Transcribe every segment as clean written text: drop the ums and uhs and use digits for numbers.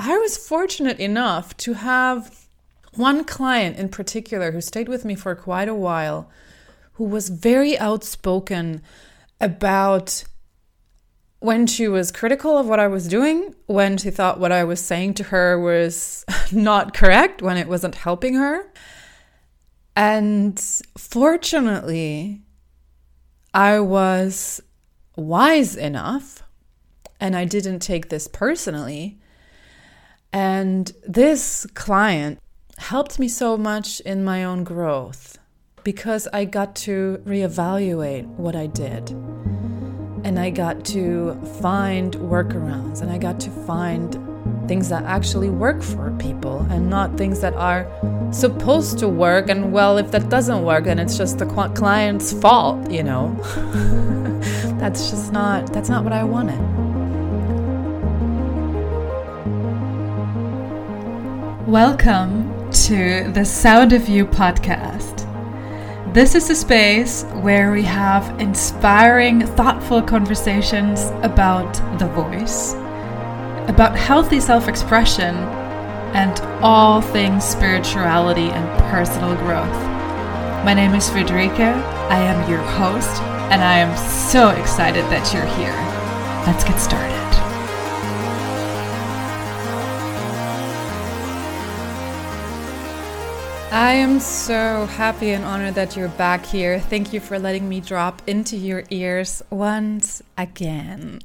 I was fortunate enough to have one client in particular who stayed with me for quite a while, who was very outspoken about when she was critical of what I was doing, when she thought what I was saying to her was not correct, when it wasn't helping her. And fortunately, I was wise enough, and I didn't take this personally. And this client helped me so much in my own growth because I got to reevaluate what I did. And I got to find workarounds, and I got to find things that actually work for people and not things that are supposed to work. And well, if that doesn't work, then it's just the client's fault, you know. That's not what I wanted. Welcome to the Sound of You podcast. This is a space where we have inspiring, thoughtful conversations about the voice, about healthy self-expression, and all things spirituality and personal growth. My name is Frederica. I am your host, and I am so excited that you're here. Let's get started. I am so happy and honored that you're back here. Thank you for letting me drop into your ears once again.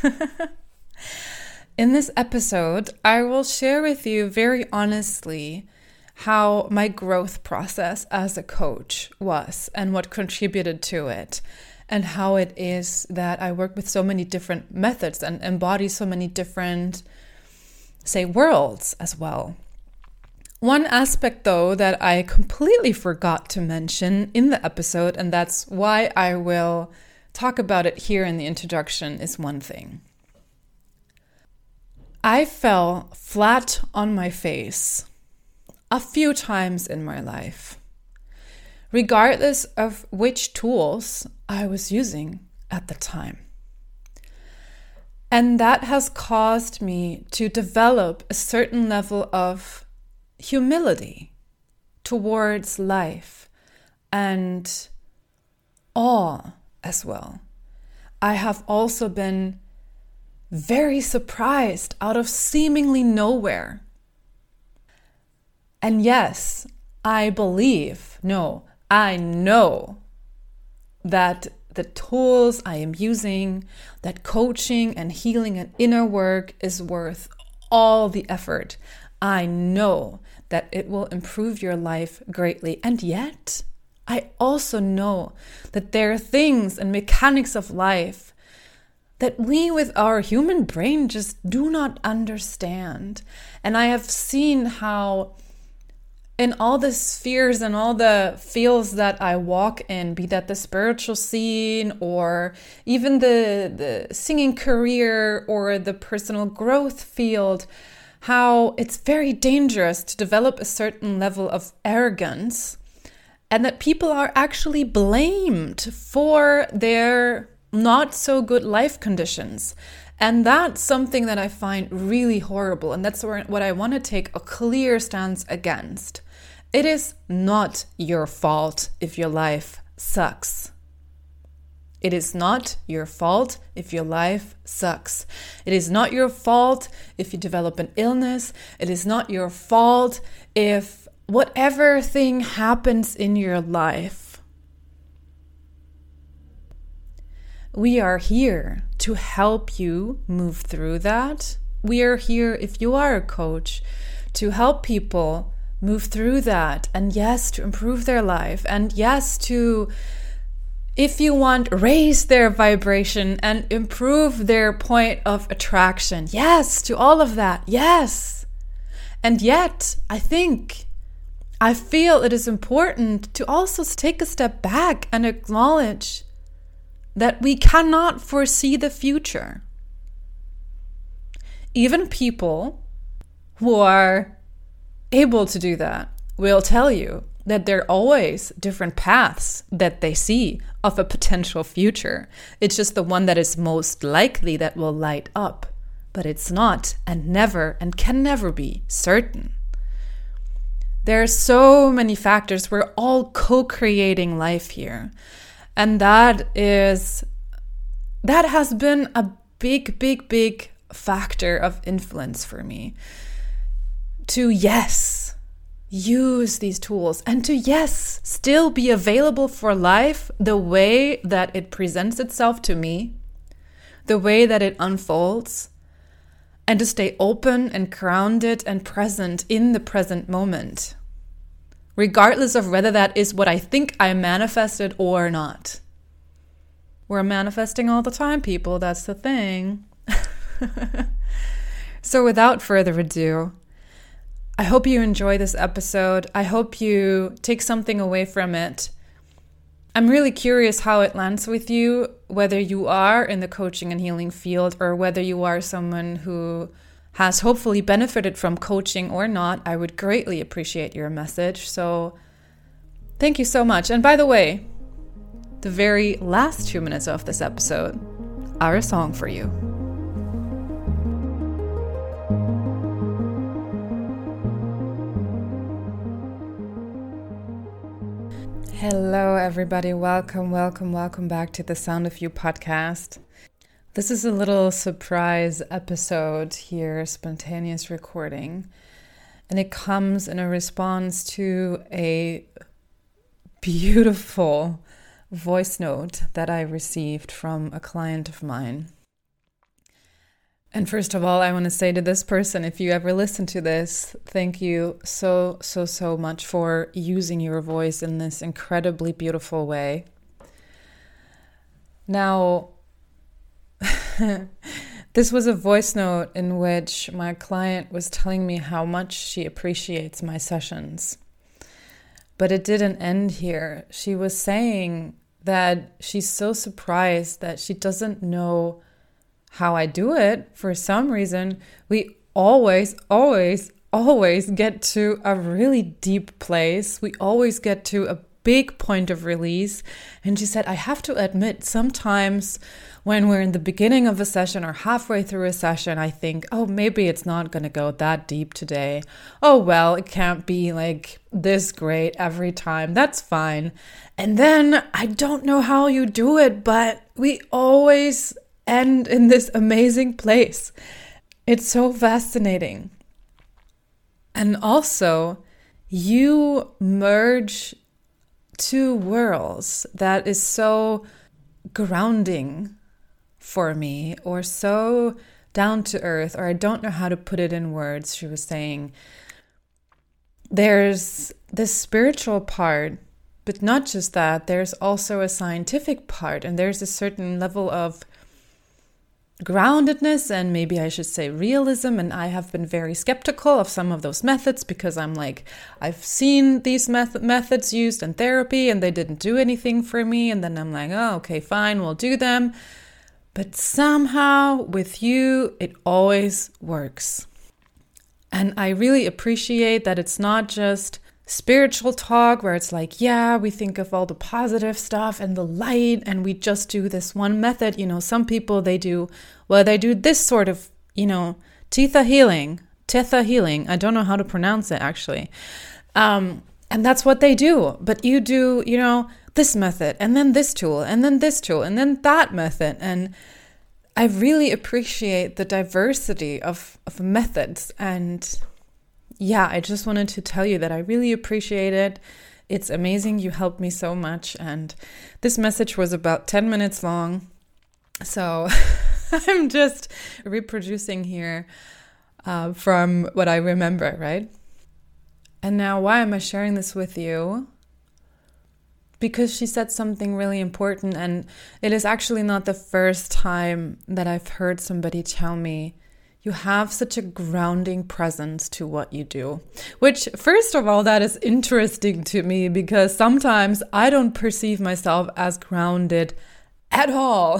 In this episode, I will share with you very honestly how my growth process as a coach was and what contributed to it, and how it is that I work with so many different methods and embody so many different, worlds as well. One aspect, though, that I completely forgot to mention in the episode, and that's why I will talk about it here in the introduction, is one thing. I fell flat on my face a few times in my life, regardless of which tools I was using at the time. And that has caused me to develop a certain level of humility towards life and awe as well. I have also been very surprised out of seemingly nowhere. And yes, I know that the tools I am using, that coaching and healing and inner work is worth all the effort. I know that it will improve your life greatly. And yet, I also know that there are things and mechanics of life that we with our human brain just do not understand. And I have seen how in all the spheres and all the fields that I walk in, be that the spiritual scene or even the singing career or the personal growth field, how it's very dangerous to develop a certain level of arrogance, and that people are actually blamed for their not so good life conditions. And that's something that I find really horrible, and that's what I want to take a clear stance against. It is not your fault if your life sucks. It is not your fault if your life sucks. It is not your fault if you develop an illness. It is not your fault if whatever thing happens in your life. We are here to help you move through that. We are here, if you are a coach, to help people move through that. And yes, to improve their life. And yes, to, if you want, raise their vibration and improve their point of attraction. Yes, to all of that. Yes. And yet, I feel it is important to also take a step back and acknowledge that we cannot foresee the future. Even people who are able to do that will tell you that there are always different paths that they see of a potential future. It's just the one that is most likely that will light up but it's not and never and can never be certain. There are so many factors. We're all co-creating life here. And that has been a big factor of influence for me. To use these tools and to still be available for life the way that it presents itself to me, the way that it unfolds, and to stay open and grounded and present in the present moment, regardless of whether that is what I think I manifested or not. We're manifesting all the time, people. That's the thing. So without further ado, I hope you enjoy this episode. I hope you take something away from it. I'm really curious how it lands with you, whether you are in the coaching and healing field or whether you are someone who has hopefully benefited from coaching or not. I would greatly appreciate your message. So thank you so much. And by the way, the very last 2 minutes of this episode are a song for you. Hello, everybody. Welcome back to the Sound of You podcast. This is a little surprise episode here, spontaneous recording, and it comes in a response to a beautiful voice note that I received from a client of mine. And first of all, I want to say to this person, if you ever listen to this, thank you so much for using your voice in this incredibly beautiful way. Now, this was a voice note in which my client was telling me how much she appreciates my sessions. But it didn't end here. She was saying that she's so surprised that she doesn't know how I do it. For some reason, we always get to a really deep place. We always get to a big point of release. And she said, I have to admit, sometimes when we're in the beginning of a session or halfway through a session, I think, oh, maybe it's not going to go that deep today. Oh, well, it can't be like this great every time. That's fine. And then I don't know how you do it, but we always end in this amazing place. It's so fascinating. And also, you merge two worlds that is so grounding for me, or so down to earth, or I don't know how to put it in words. She was saying there's this spiritual part, but not just that, there's also a scientific part, and there's a certain level of groundedness, and maybe I should say realism. And I have been very skeptical of some of those methods because I'm like, I've seen these methods used in therapy and they didn't do anything for me. And then I'm like, oh, okay, fine, we'll do them. But somehow with you, it always works. And I really appreciate that it's not just spiritual talk where it's like, yeah, we think of all the positive stuff and the light and we just do this one method. You know, some people, they do this sort of, Theta healing. I don't know how to pronounce it actually. And that's what they do. But you do, this method and then this tool and then this tool and then that method. And I really appreciate the diversity of methods. And yeah, I just wanted to tell you that I really appreciate it. It's amazing. You helped me so much. And this message was about 10 minutes long. So I'm just reproducing here from what I remember, right? And now, why am I sharing this with you? Because she said something really important. And it is actually not the first time that I've heard somebody tell me, you have such a grounding presence to what you do. Which, first of all, that is interesting to me because sometimes I don't perceive myself as grounded at all.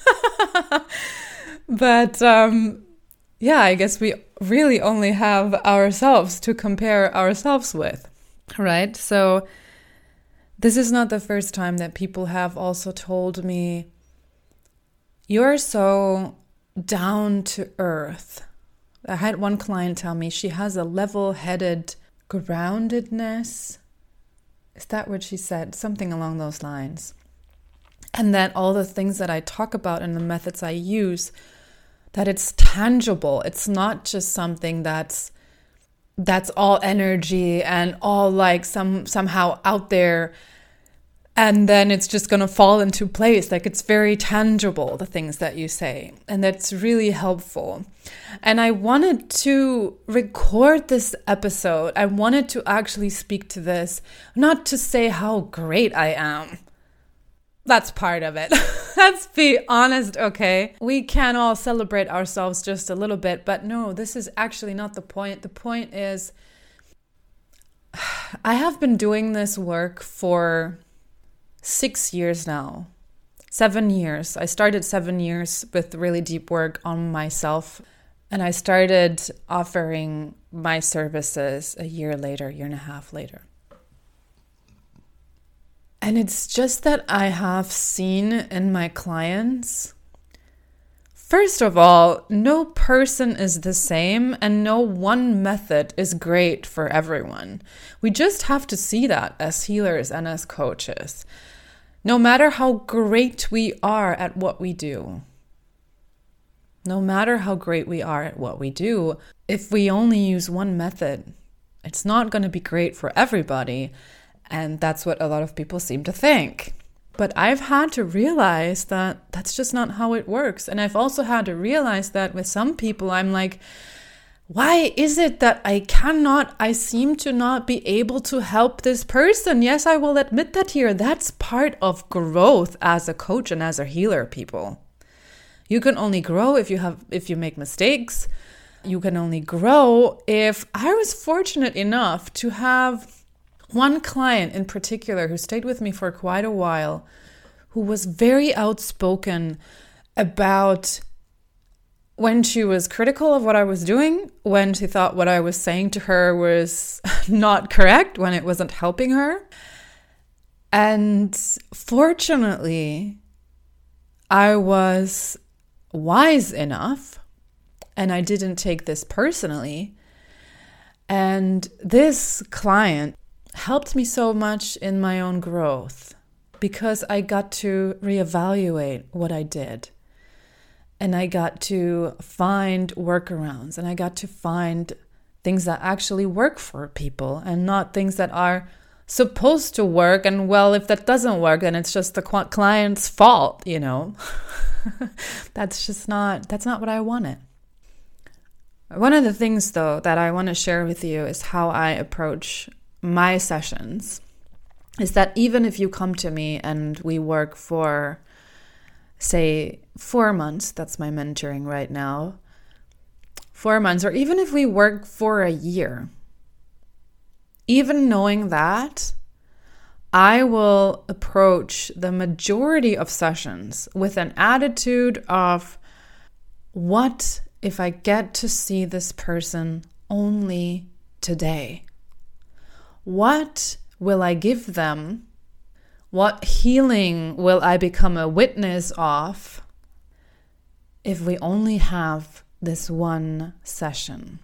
But yeah, I guess we really only have ourselves to compare ourselves with, right? So this is not the first time that people have also told me, you're so down to earth. I had one client tell me she has a level-headed groundedness. Is that what she said? Something along those lines. And that all the things that I talk about and the methods I use, that it's tangible. It's not just something that's all energy and all like somehow out there, and then it's just going to fall into place. Like, it's very tangible, the things that you say. And that's really helpful. And I wanted to record this episode. I wanted to actually speak to this, not to say how great I am. That's part of it. Let's be honest, okay? We can all celebrate ourselves just a little bit, but no, this is actually not the point. The point is, I have been doing this work for 6 years now. 7 years. I started 7 years with really deep work on myself, and I started offering my services a year later, year and a half later. And it's just that I have seen in my clients, first of all, no person is the same and no one method is great for everyone. We just have to see that as healers and as coaches. No matter how great we are at what we do, if we only use one method, it's not going to be great for everybody. And that's what a lot of people seem to think. But I've had to realize that that's just not how it works. And I've also had to realize that with some people, I'm like, why is it that I seem to not be able to help this person? Yes, I will admit that here. That's part of growth as a coach and as a healer, people. You can only grow if you make mistakes. You can only grow if I was fortunate enough to have one client in particular who stayed with me for quite a while, who was very outspoken about when she was critical of what I was doing, when she thought what I was saying to her was not correct, when it wasn't helping her. And fortunately, I was wise enough, and I didn't take this personally. And this client helped me so much in my own growth because I got to reevaluate what I did. And I got to find workarounds, and I got to find things that actually work for people and not things that are supposed to work. And well, if that doesn't work, then it's just the client's fault, you know. That's not what I wanted. One of the things, though, that I want to share with you is how I approach my sessions. Is that even if you come to me and we work for, say, 4 months, that's my mentoring right now, 4 months, or even if we work for a year, even knowing that, I will approach the majority of sessions with an attitude of, what if I get to see this person only today? What will I give them? What healing will I become a witness of if we only have this one session?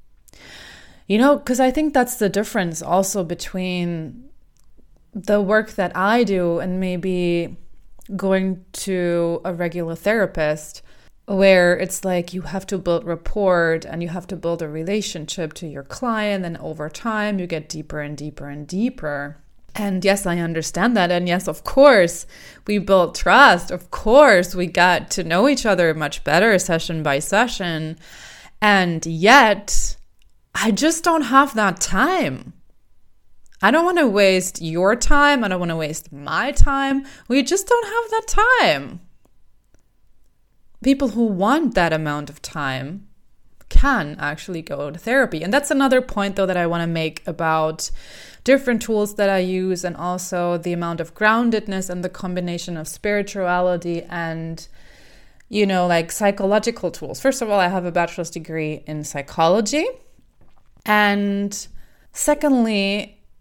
You know, because I think that's the difference also between the work that I do and maybe going to a regular therapist, where it's like you have to build rapport and you have to build a relationship to your client, and over time you get deeper and deeper and deeper. And yes, I understand that. And yes, of course, we built trust. Of course, we got to know each other much better session by session. And yet, I just don't have that time. I don't want to waste your time. I don't want to waste my time. We just don't have that time. People who want that amount of time can actually go to therapy. And that's another point, though, that I want to make about different tools that I use, and also the amount of groundedness and the combination of spirituality and, you know, like psychological tools. First of all, I have a bachelor's degree in psychology. And secondly,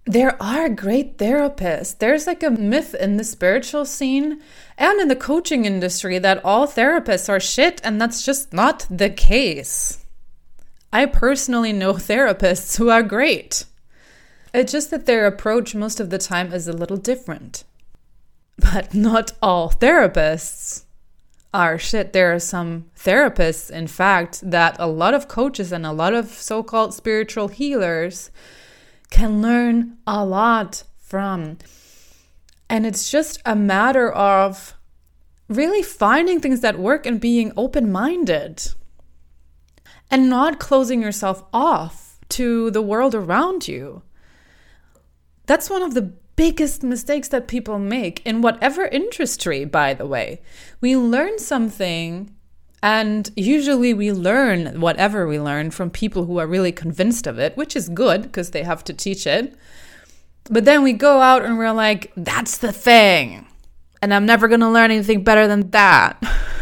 there are great therapists. There's like a myth in the spiritual scene and in the coaching industry that all therapists are shit, and that's just not the case. I personally know therapists who are great. It's just that their approach most of the time is a little different. But not all therapists are shit. There are some therapists, in fact, that a lot of coaches and a lot of so-called spiritual healers can learn a lot from. And it's just a matter of really finding things that work and being open-minded and not closing yourself off to the world around you. That's one of the biggest mistakes that people make in whatever industry, by the way. We learn something, and usually we learn whatever we learn from people who are really convinced of it, which is good because they have to teach it. But then we go out and we're like, that's the thing, and I'm never going to learn anything better than that.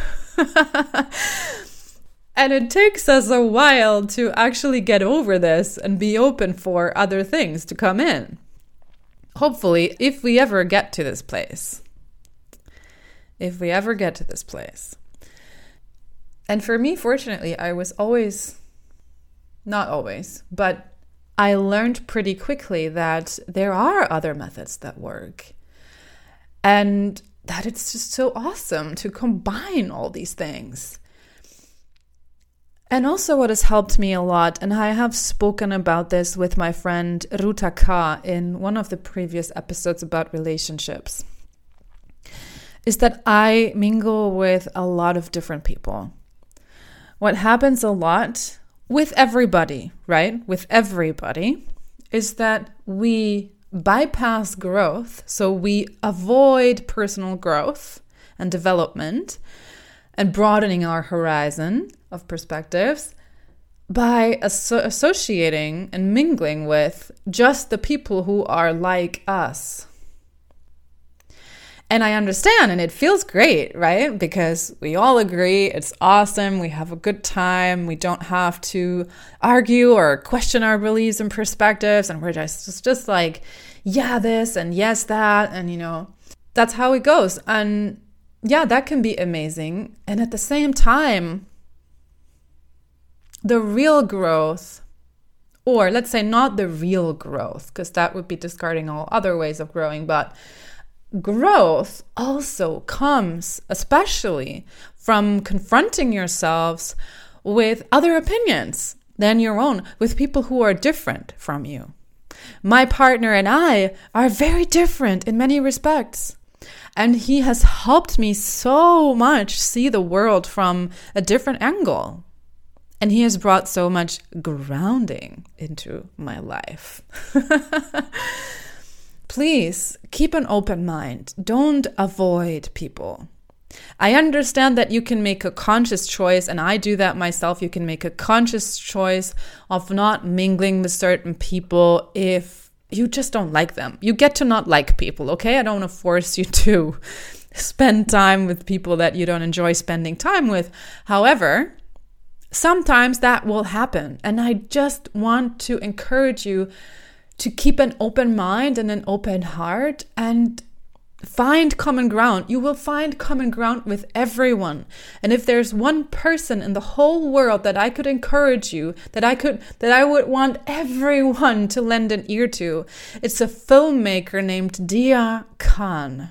And it takes us a while to actually get over this and be open for other things to come in. Hopefully, if we ever get to this place. If we ever get to this place. And for me, fortunately, I was always, not always, but I learned pretty quickly that there are other methods that work. And that it's just so awesome to combine all these things. And also what has helped me a lot, and I have spoken about this with my friend Ruta K in one of the previous episodes about relationships, is that I mingle with a lot of different people. What happens a lot with everybody, right? With everybody, is that we bypass growth. So we avoid personal growth and development and broadening our horizon of perspectives by associating and mingling with just the people who are like us. And I understand, and it feels great, right? Because we all agree it's awesome, we have a good time, we don't have to argue or question our beliefs and perspectives, and we're just like, yeah, this and yes, that, and that's how it goes. And yeah, that can be amazing. And at the same time, the real growth, or let's say not the real growth, because that would be discarding all other ways of growing, but growth also comes especially from confronting yourselves with other opinions than your own, with people who are different from you. My partner and I are very different in many respects. And he has helped me so much see the world from a different angle. And he has brought so much grounding into my life. Please keep an open mind. Don't avoid people. I understand that you can make a conscious choice, and I do that myself. You can make a conscious choice of not mingling with certain people if you just don't like them. You get to not like people, okay? I don't want to force you to spend time with people that you don't enjoy spending time with. However, sometimes that will happen. And I just want to encourage you to keep an open mind and an open heart and find common ground. You will find common ground with everyone. And if there's one person in the whole world that I could encourage you, that I would want everyone to lend an ear to, it's a filmmaker named Dia Khan.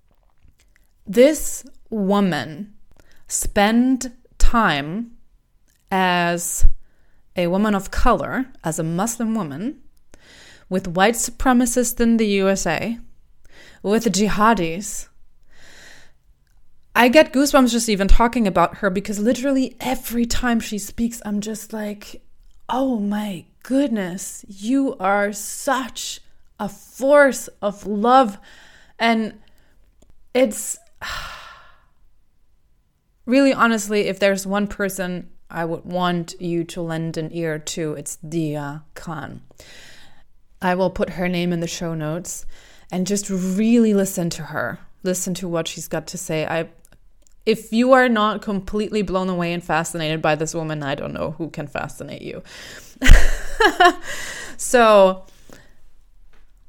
This woman spent time as a woman of color, as a Muslim woman, with white supremacists in the USA, with jihadis. I get goosebumps just even talking about her, because literally every time she speaks, I'm just like, oh my goodness, you are such a force of love. And it's really, honestly, if there's one person I would want you to lend an ear to, it's Dia Khan. I will put her name in the show notes. And just really listen to her. Listen to what she's got to say. If you are not completely blown away and fascinated by this woman, I don't know who can fascinate you. So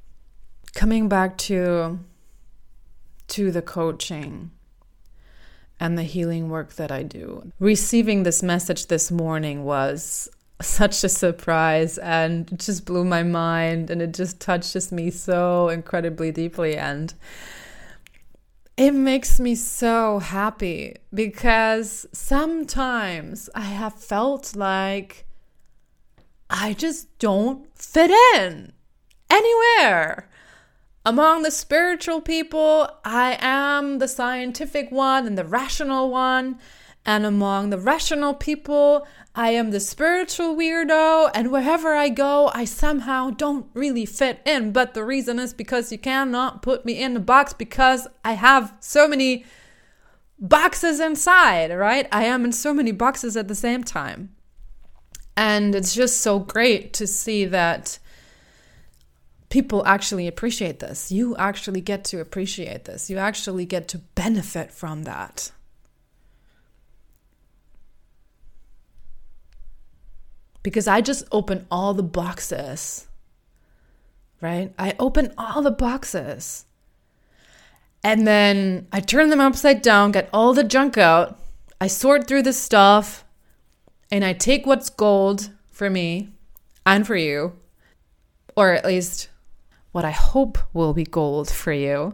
coming back to the coaching and the healing work that I do. Receiving this message this morning was such a surprise, and it just blew my mind, and it just touches me so incredibly deeply, and it makes me so happy because sometimes I have felt like I just don't fit in anywhere. Among the spiritual people, I am the scientific one and the rational one. And among the rational people, I am the spiritual weirdo. And wherever I go, I somehow don't really fit in. But the reason is because you cannot put me in a box because I have so many boxes inside, right? I am in so many boxes at the same time. And it's just so great to see that people actually appreciate this. You actually get to appreciate this. You actually get to benefit from that. Because I just open all the boxes, right? I open all the boxes. And then I turn them upside down, get all the junk out. I sort through the stuff. And I take what's gold for me and for you. Or at least what I hope will be gold for you.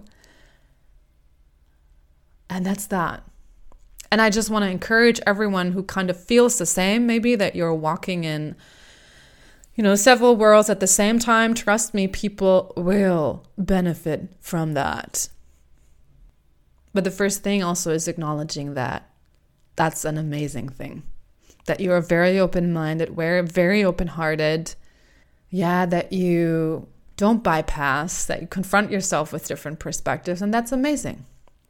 And that's that. And I just want to encourage everyone who kind of feels the same, maybe that you're walking in, several worlds at the same time. Trust me, people will benefit from that. But the first thing also is acknowledging that that's an amazing thing. That you're very open-minded, very open-hearted. Yeah, that you don't bypass, that you confront yourself with different perspectives, and that's amazing.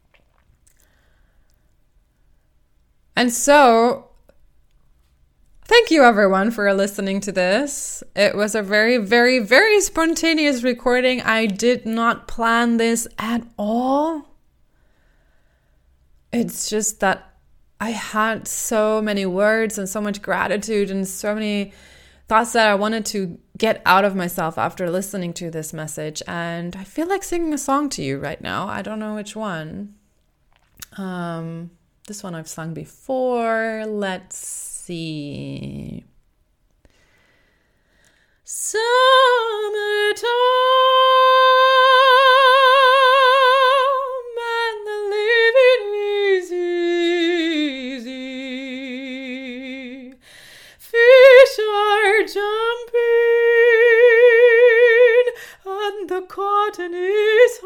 And so, thank you everyone for listening to this. It was a very, very, very spontaneous recording. I did not plan this at all. It's just that I had so many words and so much gratitude and so many thoughts that I wanted to get out of myself after listening to this message. And I feel like singing a song to you right now. I don't know which one. This one I've sung before. Let's see. Summertime and the living is easy. Fish are jumping and the cotton is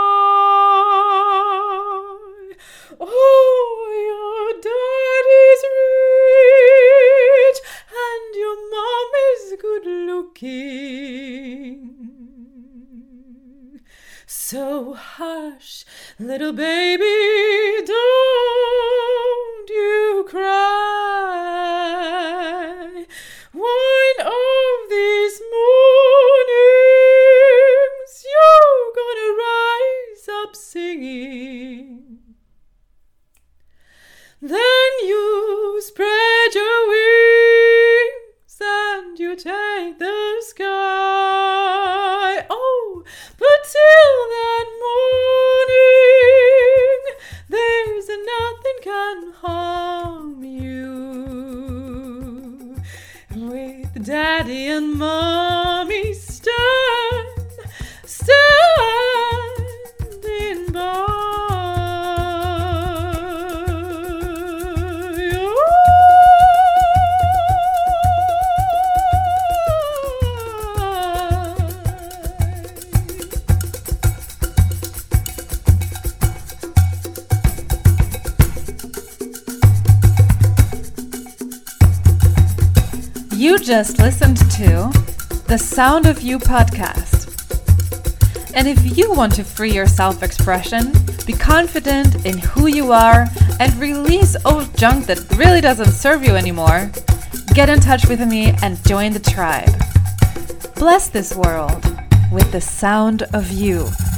high. Oh, your daddy's rich and your mom is good looking. So hush, little baby, don't you cry. One of these mornings you're gonna rise up singing. Then you spread your wings and you take the sky. Oh, but till that morning, there's nothing can harm you. With daddy and mommy standing by. You just listened to the Sound of You podcast. And if you want to free your self-expression, be confident in who you are, and release old junk that really doesn't serve you anymore, get in touch with me and join the tribe. Bless this world with the sound of you.